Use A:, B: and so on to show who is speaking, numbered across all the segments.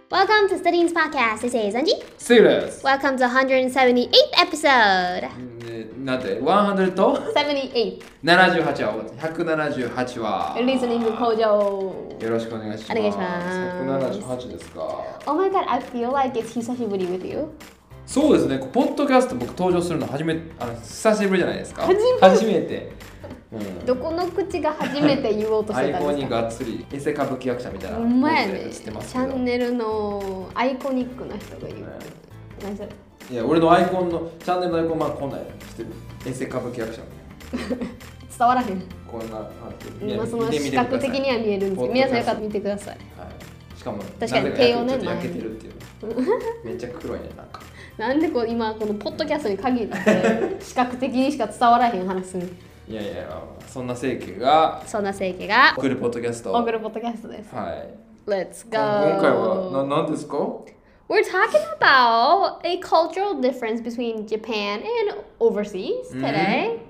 A: Welcome to Studying's podcast. This is Anji.
B: セイです。
A: Welcome to 178th episode.
B: なんて100と
A: 78.
B: 78話178話
A: Listening 向上。
B: よろしくお願いします。
A: お願いします。
B: 178ですか。
A: Oh my god, I feel like it's 久しぶり with you.
B: そうですね。ポッドキャスト僕登場するの久しぶりじゃないですか。
A: 初
B: めて。
A: どこの口が初めて言おうとしてたん
B: アイコン
A: ですか？
B: にがっつりエセ歌舞伎役者みたいな
A: ほんまやね。
B: 映ってます
A: チ
B: けど。
A: ャンネルのアイコニックな人がいる。何それ？
B: いや俺のアイコンのチャンネルのアイコンこんなんやしてる。エセ歌舞伎役者。
A: 伝わらへん。
B: こんな感じ。
A: 今その視覚的には見えるんですけど、皆さんよかったら見てください。
B: はい。しかも
A: 確かに手をね
B: ちょっと焼けてるっていう。めっちゃ黒いねなんか。
A: なんで今このポッドキャストに限って視覚的にしか伝わらへん話する。
B: いやいや、そんな清家が送るポッドキャスト。
A: 送るポッドキャストです。
B: はい。
A: Let's go.
B: 今回は何ですか？
A: We're talking about a cultural difference between Japan and overseas today.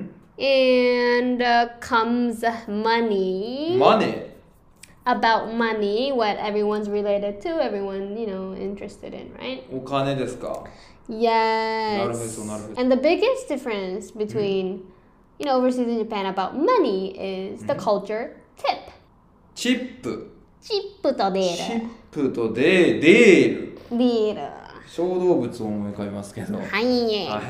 A: And comes money. About money, what everyone's related to, everyone, interested in, right?
B: お金ですか？
A: Yes.
B: なるほど。
A: And the biggest difference between, overseas and Japan about money is the culture tip.
B: チップ。
A: チップとデール。
B: チップとデール。
A: デール。
B: 小動物を思い浮かべますけど。
A: はい。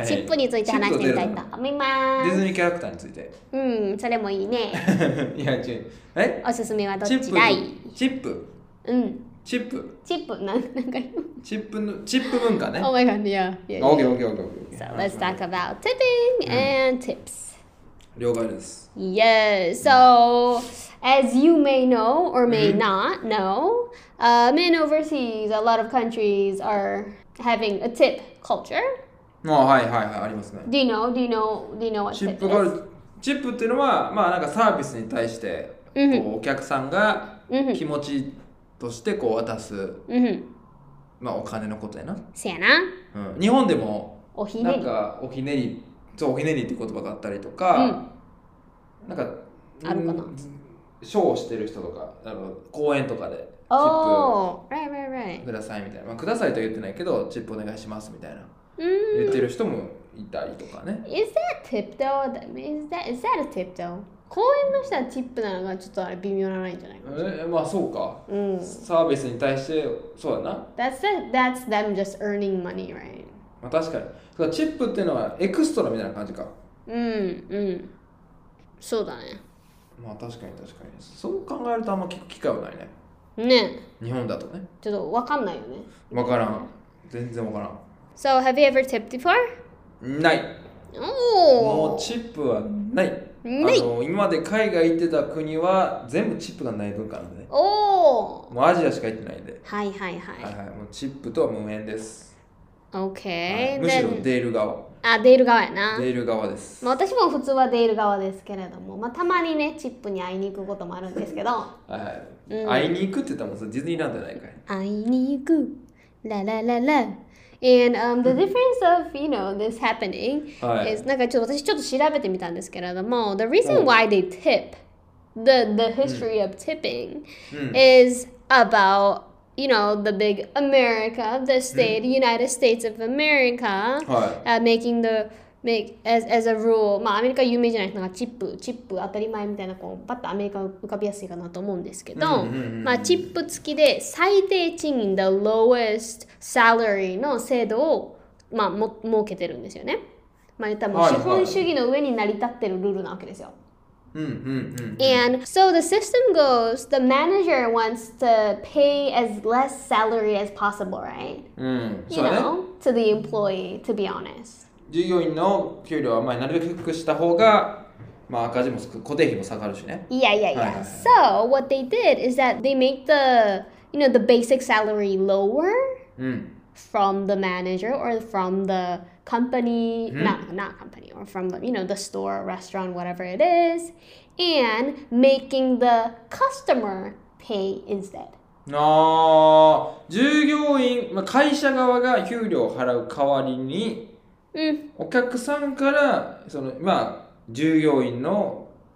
A: チップについて話してみたいと思います。
B: ディズニーキャラクターについて。
A: それもいいね。
B: いや違う。
A: おすすめはどっちだい？
B: チップ。チップ。
A: なんか
B: チップ文化ね。
A: Oh my god, yeah.
B: Okay.
A: So let's talk about tipping and tips.
B: 了解です。
A: Yes. So as you may know or may not know, in overseas, a lot of countries are having a tip culture.
B: はいありますね。
A: Do you know what
B: チ
A: tip
B: ップがあ
A: is?
B: る。チップっていうのはなんかサービスに対してお客さんが気持ちとして渡すお金のことやな。
A: せやな。
B: 日本でも
A: おひねり。
B: なんかおひねりって言葉があったりとか、なんか
A: あるかな。
B: ショーをしてる人とか公演とかでチップくださいみたいな、くださいとは言ってないけどチップお願いしますみたいな言ってる人もいたりとかね。
A: Is that tip though? Is that a tip though? 公園の人はチップなのがちょっと微妙なラインじゃないか。
B: そうか。サービスに対してそうだな。
A: That's them just earning money, right?
B: 確かに。チップっていうのはエクストラみたいな感じか。
A: そうだね。
B: 確かに。そう考えるとあんま聞く機会はないね。
A: ね。
B: 日本だとね。
A: ちょっとわかんないよね。
B: わからん。全然わからん。
A: So have you ever tipped before?
B: ない。もうチップはない。今まで海外行ってた国は全部チップがない文化なんでね。もうアジアしか行ってないんで。
A: はい。
B: もうチップとは無縁です。
A: OK。
B: むしろデール側。
A: デール側やな。
B: デール側です。
A: 私も普通はデール側ですけれども、たまにね、チップに会いに行くこともあるんですけど。
B: 会いに行くって言ったらもうディズニーランドじゃないかい。
A: 会いに行く。ララララ。And the difference of, this happening is なんか私ちょっと調べてみたんですけれども、the reason why they tip, the history of tipping is about, the big America, the United States of America, as a rule, アメリカ有名じゃない人がチップ当たり前みたいなパッとアメリカ浮かびやすいかなと思うんですけど、チップ付きで最低賃金 the lowest salary の制度を設けてるんですよね。言ったらもう資本主義の上に成り立ってるルールなわけですよ。And so the system goes, the manager wants to pay as less salary as possible, right? To the employee, to be honest.
B: 従業員の給料はなるべく低くした方が赤字も固定費も下がるしね。
A: Yeah. So what they did is that they make the basic salary lower from the manager or from the company, not company, or from the store, restaurant, whatever it is, and making the customer pay instead.
B: 従業員、会社側が給料を払う代わりにお客さんから従業員の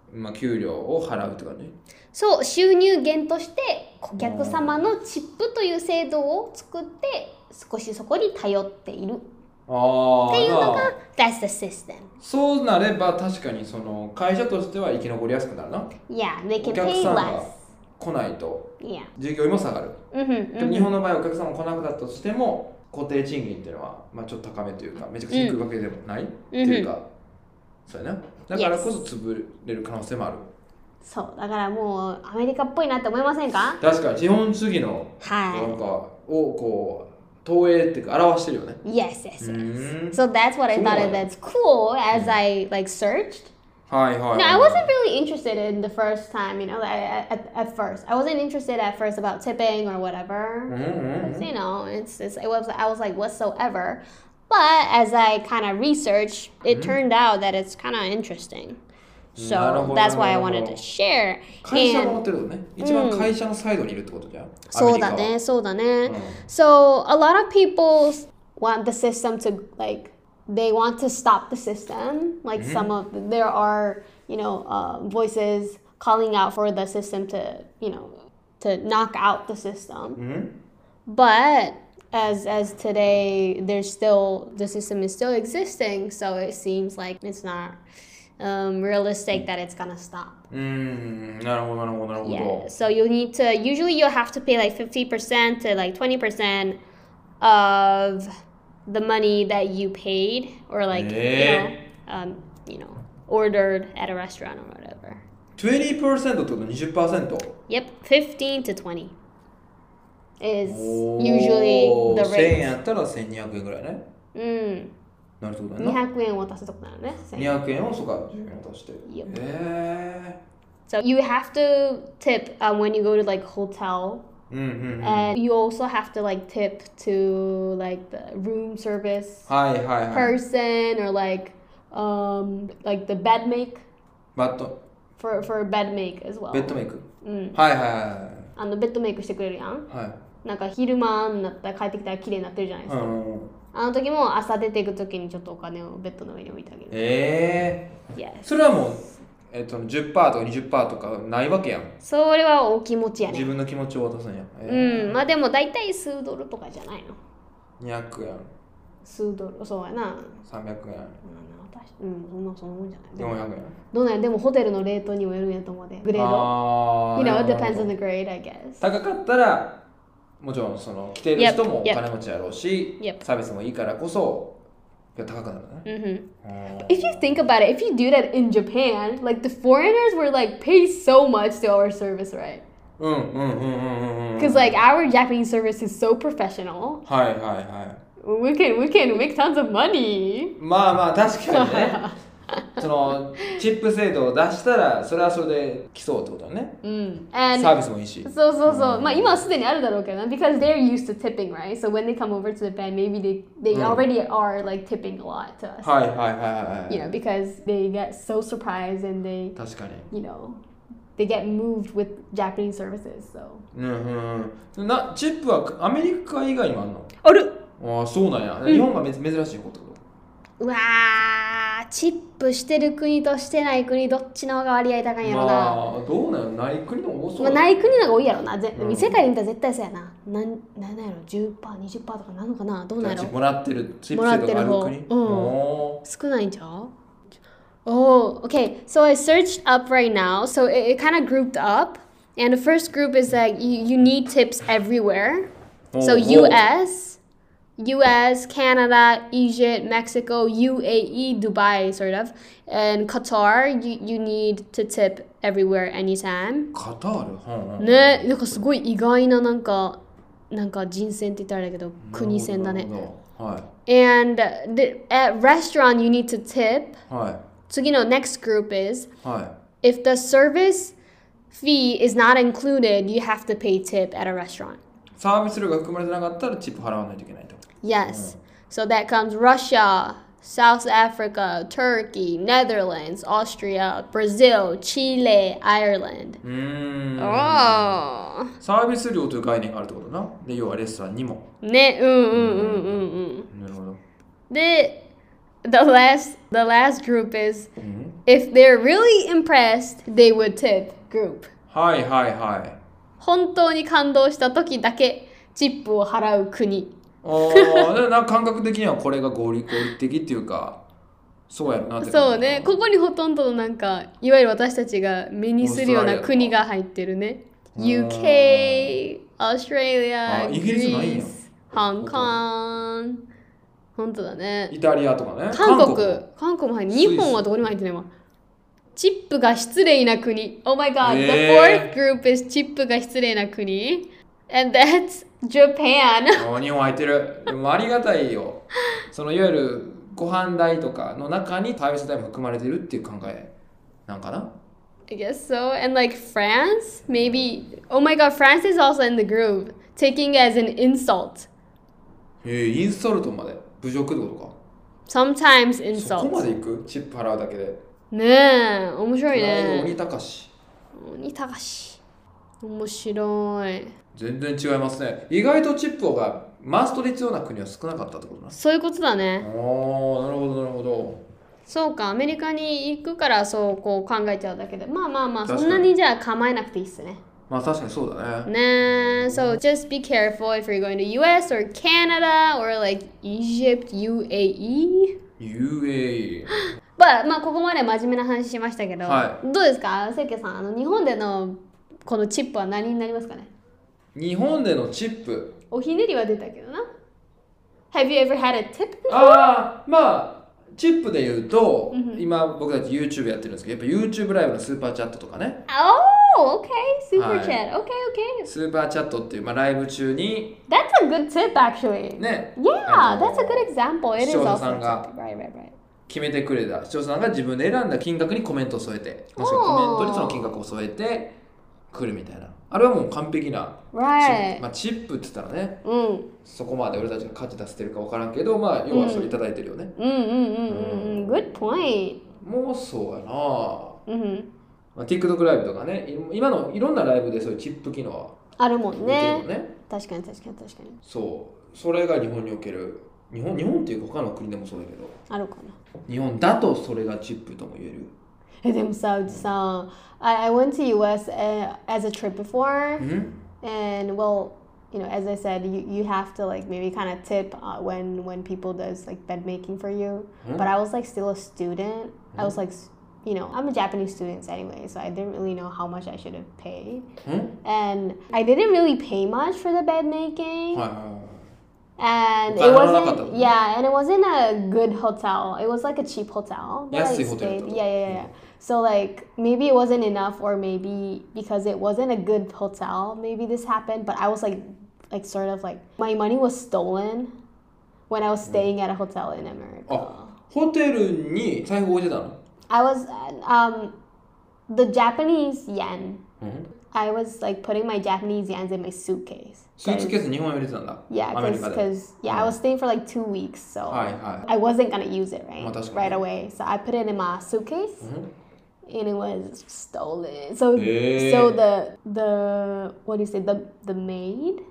B: まあ、給料を払うって感じ。
A: そう、収入源として顧客様のチップという制度を作って少しそこに頼っているっていうのが That's the system。
B: そうなれば確かにその会社としては生き残りやすくなるな。
A: Yeah, they can
B: お客
A: pay
B: さん
A: less。
B: が来ないと従業員も下がる。でも日本の場合お客さんも来なくなったとしても固定賃金っていうのは、まあ、ちょっと高めというかめちゃくちゃ低いわけでもない、っていうか、そうやな。だからこそ潰れる可能性もある。
A: そうだからもうアメリカっぽいなって思いませんか？
B: 確かに資本主義のなんかをこう投影っていうか表してるよね。
A: Yes, yes, yes. So that's what I thought that's cool as I like searched.
B: はいはい。
A: No, I wasn't really interested in the first time, you know, at first. I wasn't interested at first about tipping or whatever. You know, I was like whatsoever. But as I kind of researched, it turned out that it's kind of interesting. So that's why I wanted to share.
B: 会社も持ってるのね。一番会社のサイドにいるってことじゃん。
A: そうだね、そうだね。So a lot of people want the system to like they want to stop the system. Like some of there are, you know, voices calling out for the system to, you know, to knock out the system. But as today, there's still the system is still existing, so it seems like it's not realistic that it's gonna stop.
B: なるほどなるほどなるほど。
A: Yeah. So you need to usually you have to pay like 50% to like 20% of the money that you paid or like you know ordered at a restaurant or whatever.
B: 20% ってこと 20%?
A: Yep, 15 to 20 is usually the
B: 1000
A: rate.
B: 円やったら1200円ぐらいね。なるほどね。
A: 200円を渡すとこなのね。
B: 200円をそうか10円渡して。
A: So you have to tip when you go to like hotel. And you also have to like tip to like the room service person or like the bed make for bed make as well.
B: ベッドメイク。はいはいはい。
A: ベッドメイクしてくれるやん。なんか昼間になったら帰ってきたら綺麗になってるじゃないですか。あの時も朝出ていく時にちょっとお金をベッドの上に置いてあげる。
B: それはもう10%とか20%とかないわけやん。
A: それはお気持ちやね。
B: 自分の気持ちを渡すんや。
A: まあでも大体数ドルとかじゃないの。
B: 200円。
A: 数ドル、そうやな。
B: 300円。
A: そんなもんじゃない。
B: 400円。
A: どうなんや、でもホテルのレートにもよるんやと思うで。グレード。You know, it depends on the grade, I guess.
B: 高かったら、もちろんその来てる人もお金持ちやろうし、サービスもいいからこそ高くなるね。
A: If you think about it, if you do that in Japan, like the foreigners were like pay so much to our service, right? Because like our Japanese service is so professional.
B: はいはいはい。
A: We can make tons of money.
B: まあまあ確かにね。そのチップ制度を出したらそれはそれで競うってことだね。サービスもいいし。
A: そうそうそう。まあ今はすでにあるだろうけどな。Because they're used to tipping, right? So when they come over to Japan, maybe they already are like tipping a lot to us.
B: はいはいはいはい。
A: You know, because they get so surprised and they,
B: 確かに。
A: You know, they get moved with Japanese services. So.
B: チップはアメリカ以外にもあるの？
A: ある。
B: ああそうなんや。日本が珍しいこと。
A: うわー、チップしてる国としてない国どっちの方が割合高いんやろな。
B: まあどうなの？ない国の多そう。
A: ない国の方が多いやろな。世界で見たら絶対そうやな。なんやろ、10%、20%とかなのかな。どうなんやろ。
B: もらってるチップ制度がある国。
A: 少ないんちゃう？Oh, okay. So I searched up right now. So it kind of grouped up. And the first group is that you need tips everywhere. So US, Canada, Egypt, Mexico, UAE, Dubai, sort of. And Qatar, you need to tip everywhere, anytime.
B: カタール？
A: ね、なんかすごい意外ななんか人選って言ったらあれだけど、国選だね。And at restaurant, you need to tip. 次の next group is, if the service fee is not included, you have to pay tip at a restaurant.
B: サービス料が含まれてなかったらチップ払わないといけないと。
A: Yes. So that comes Russia, South Africa, Turkey, Netherlands, Austria, Brazil, Chile, Ireland.
B: サービス料という概念があるってことな。で、要はレストランにも。
A: ね、なるほど。で、the last group is if they're really impressed, they would tip group.
B: はいはいはい。
A: 本当に感動した時だけチップを払う国。
B: なんか感覚的にはこれが合理的っていうか、そうやろなって。
A: そうね、ここにほとんどのなんか、いわゆる私たちが目にするような国が入ってるね。UK、Australia、
B: イギリスないんや。
A: 香港。本当だね。
B: イタリアとかね。
A: 韓国も入って日本はどこにも入ってないわ。チップが失礼な国。Oh my god, the fourth group is チップが失礼な国。And that's Japan.
B: 日本入ってる。でもありがたいよ。そのいわゆるご飯代とかの中にサービス代も含まれてるっていう考えなんかな
A: I guess so. And like France, maybe. Oh my god, France is also in the group. Taking it as an insult.
B: インソルトまで侮辱ってことか
A: Sometimes insult.
B: そこまで行くチップ払うだけで。
A: ねえ、面白いね。
B: 鬼高し。
A: 鬼高し。面白い。
B: 全然違いますね。意外とチップがマストで必要な国は少なかったってことな。
A: そういうことだね。
B: なるほどなるほど。
A: そうか、アメリカに行くからそうこう考えちゃうだけで。まあ、そんなにじゃあ構えなくていいっすね。
B: まあ確かにそうだね。
A: ねえ、so just be careful if you're going to US or Canada or like Egypt, UAE.
B: UAE。
A: まあここまで真面目な話しましたけど、
B: はい、
A: どうですか、せいけさん、日本でのこのチップは何になりますかね。
B: 日本でのチップ。
A: おひねりは出たけどな。Have you ever had a tip before?
B: まあチップで言うと、今僕たち YouTube やってるんですけど、やっぱ YouTube ライブのスーパーチャットとかね。
A: Oh, okay, super chat. Okay.
B: スーパーチャットっていう、ライブ中に。
A: That's a good tip, actually.
B: ね。
A: Yeah, that's a good example. It is
B: 視聴者
A: also
B: さん
A: a
B: が
A: tip. Right.
B: 決めてくれた視聴者さんが自分で選んだ金額にコメントを添えて、もしくはコメントにその金額を添えてくるみたいな。あれはもう完璧なチップって言ったらね、そこまで俺たちが価値出せてるか分からんけど、要はそれいただいてるよね。
A: Good point.
B: もうそうやな。TikTok ライブとかね、今のいろんなライブでそういうチップ機能は
A: あるもんね。確かに。
B: そう、それが日本における、日本っていうか他の国でもそうだけど、
A: あるかな。
B: 日本だとそれがチップとも言える。
A: でもさ、I went to US as a trip before, and well, as I said, you have to like maybe kind of tip when people does like bed making for you. But I was like still a student. I was like, I'm a Japanese student anyway, so I didn't really know how much I should have paid. And I didn't really pay much for the bed making. And it wasn't a good hotel. It was like a cheap hotel. Yeah. So like maybe it wasn't enough, or maybe because it wasn't a good hotel, maybe this happened. But I was like sort of like my money was stolen when I was staying at a hotel in America.
B: ホテルに財布置いてたの?
A: I was the Japanese yen. I was like putting my Japanese yens in my suitcase.
B: スーツケース日本に入れてたんだ。
A: Yeah, because I was staying for like 2 weeks, so I wasn't gonna use it right away. So I put it in my suitcase, and it was stolen. So the what do you say, the maid?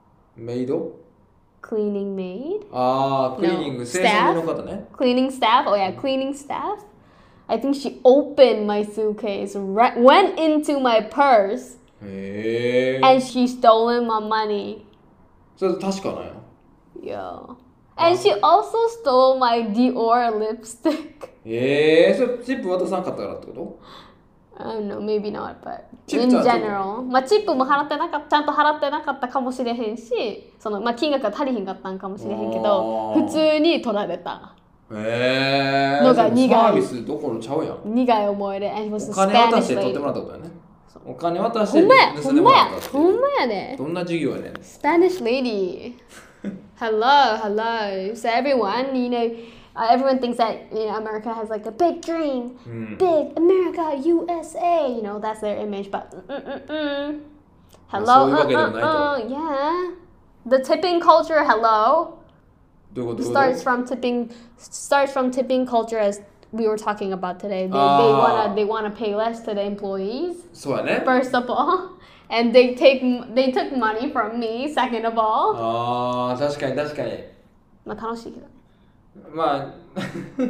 A: Cleaning maid?
B: Cleaning staff?
A: Cleaning staff? Oh yeah, cleaning staff. I think she opened my suitcase, went into my purse, and she stolen my money.
B: それ確かなんや。
A: Yeah. And she also stole my Dior lipstick.
B: それチップ渡さんかったからってこと？
A: I don't know, maybe not, but in general. チップもちゃんと払ってなかったかもしれへんし、金額が足りひんかったんかもしれへんけど、普通に取られた。のが苦い。
B: サービスどころちゃうやん。
A: 苦い思い出。
B: お金渡して取ってもらったことやね。お金渡して盗んでもらったって。
A: ほんまやね。
B: どんな授業やねん。
A: Spanish lady. Hello. So everyone, everyone thinks that America has like a big dream, big America, USA. That's their image. But hello. Yeah. The tipping culture. Hello. Starts from tipping culture, as we were talking about today. They wanna pay less to the employees. First of all, and they took money from me. Second of all.
B: 確かに。
A: 楽しいけど。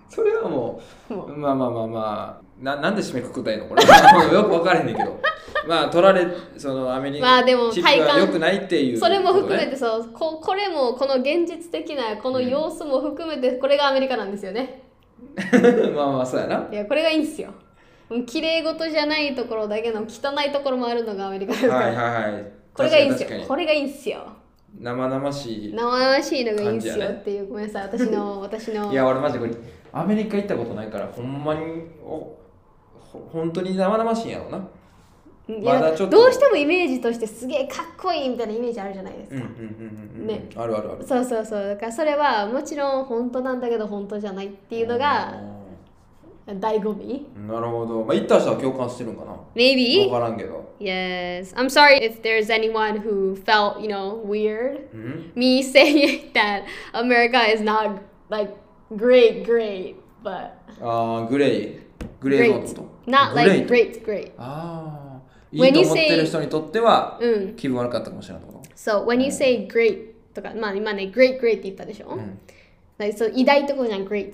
B: それはもうまあなんで締めくくったらいいのこれよく分からへんねんけどまあ取られそのアメリカ、
A: まあでも
B: チップは良くないっていう、
A: それも含めてそうこれもこの現実的なこの様子も含めてこれがアメリカなんですよね
B: まあそうやな。
A: いやこれがいいんすよ。綺麗事じゃないところだけの汚いところもあるのがアメリカですから、これがいいんすよ。これがいいんすよ。
B: 生々しい
A: のがいいんすよっていう、ごめんなさい、私の
B: いや俺マジでこれアメリカ行ったことないからほんまに本当に生々しいんやろうな。
A: まだちょっとどうしてもイメージとしてすげえかっこいいみたいなイメージあるじゃないですか。
B: ね、ある。
A: そうだからそれはもちろん本当なんだけど本当じゃないっていうのが醍醐味。
B: なるほど。まあ行った人は共感してるんかな。
A: Maybe。
B: わからんけど。
A: Yes. I'm sorry if there's anyone who felt, weird. Me saying that America is not like great, but.
B: グレーゾーンのこと。
A: Not like great.
B: いいと思ってる人にとっては気分悪かったかもしれないってこと。
A: So when you say great とか、まあ今ね、great って言ったでしょ、like, so 偉大ってことじゃん、great って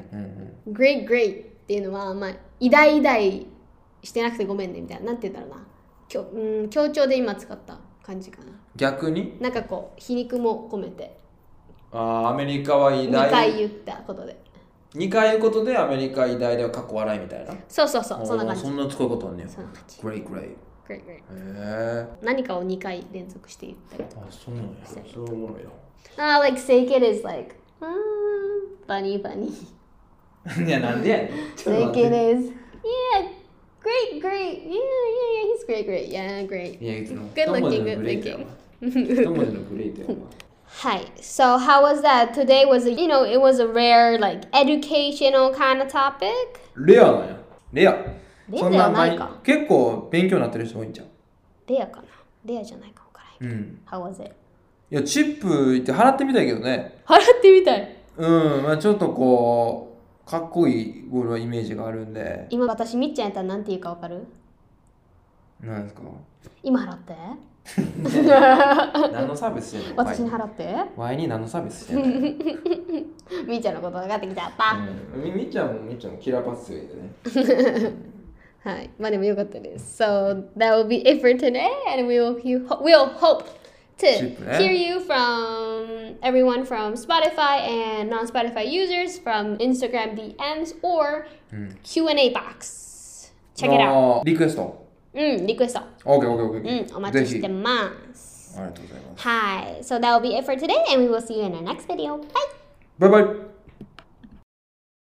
A: 。great っていうのは、まあ、偉大してなくてごめんねみたいな。なんて言うんだろうな。強調で今使った感じかな。
B: 逆に
A: なんかこう、皮肉も込めて。
B: アメリカは偉大。
A: 2回言ったことで。
B: 2回言うことでアメリカ偉大ではかっこ笑いみたいな。
A: そう、そんな感じ。
B: そんな使うことあんねん。
A: そんな感じ。
B: great。
A: 何かを2回連続して言ったりとか。
B: そうなんや。それおもろいな。
A: like say it is like, funny.
B: いや、なんでやねん。
A: Say it is, yeah, great. Yeah, he's great. Yeah, great. Good looking.
B: 一文字のグレートやわ。
A: Hi. So how was that? Today was it was a rare like educational kind of topic.
B: レアなんや。レア
A: ではないか。
B: 結構勉強になってる人多いんじゃん。
A: レアかな。レアじゃないかもからへん。How was it?
B: いやチップって払ってみたいけどね。
A: 払ってみたい。
B: まあちょっとこうかっこいいゴールはイメージがあるんで。
A: 今私みっちゃんやったらなんて言うかわかる？
B: なんですか？
A: 今払って。
B: 何のサービスしてんの？
A: 私に払って。
B: ワイに何のサービスしてんの？
A: みっちゃんのこと分かってきちゃった。
B: みっちゃんもキラーパス強いでね。
A: はい、まあでもよかったです。So that will be it for today, and we'll hope to hear you from everyone from Spotify and non-Spotify users from Instagram DMs or Q&A box. Check it out.
B: リクエスト。
A: リクエスト。
B: OK。
A: お待ちしてます。
B: ありがとうございます。
A: はい。So that will be it for today, and we will see you in our next video. Bye!
B: バイバイ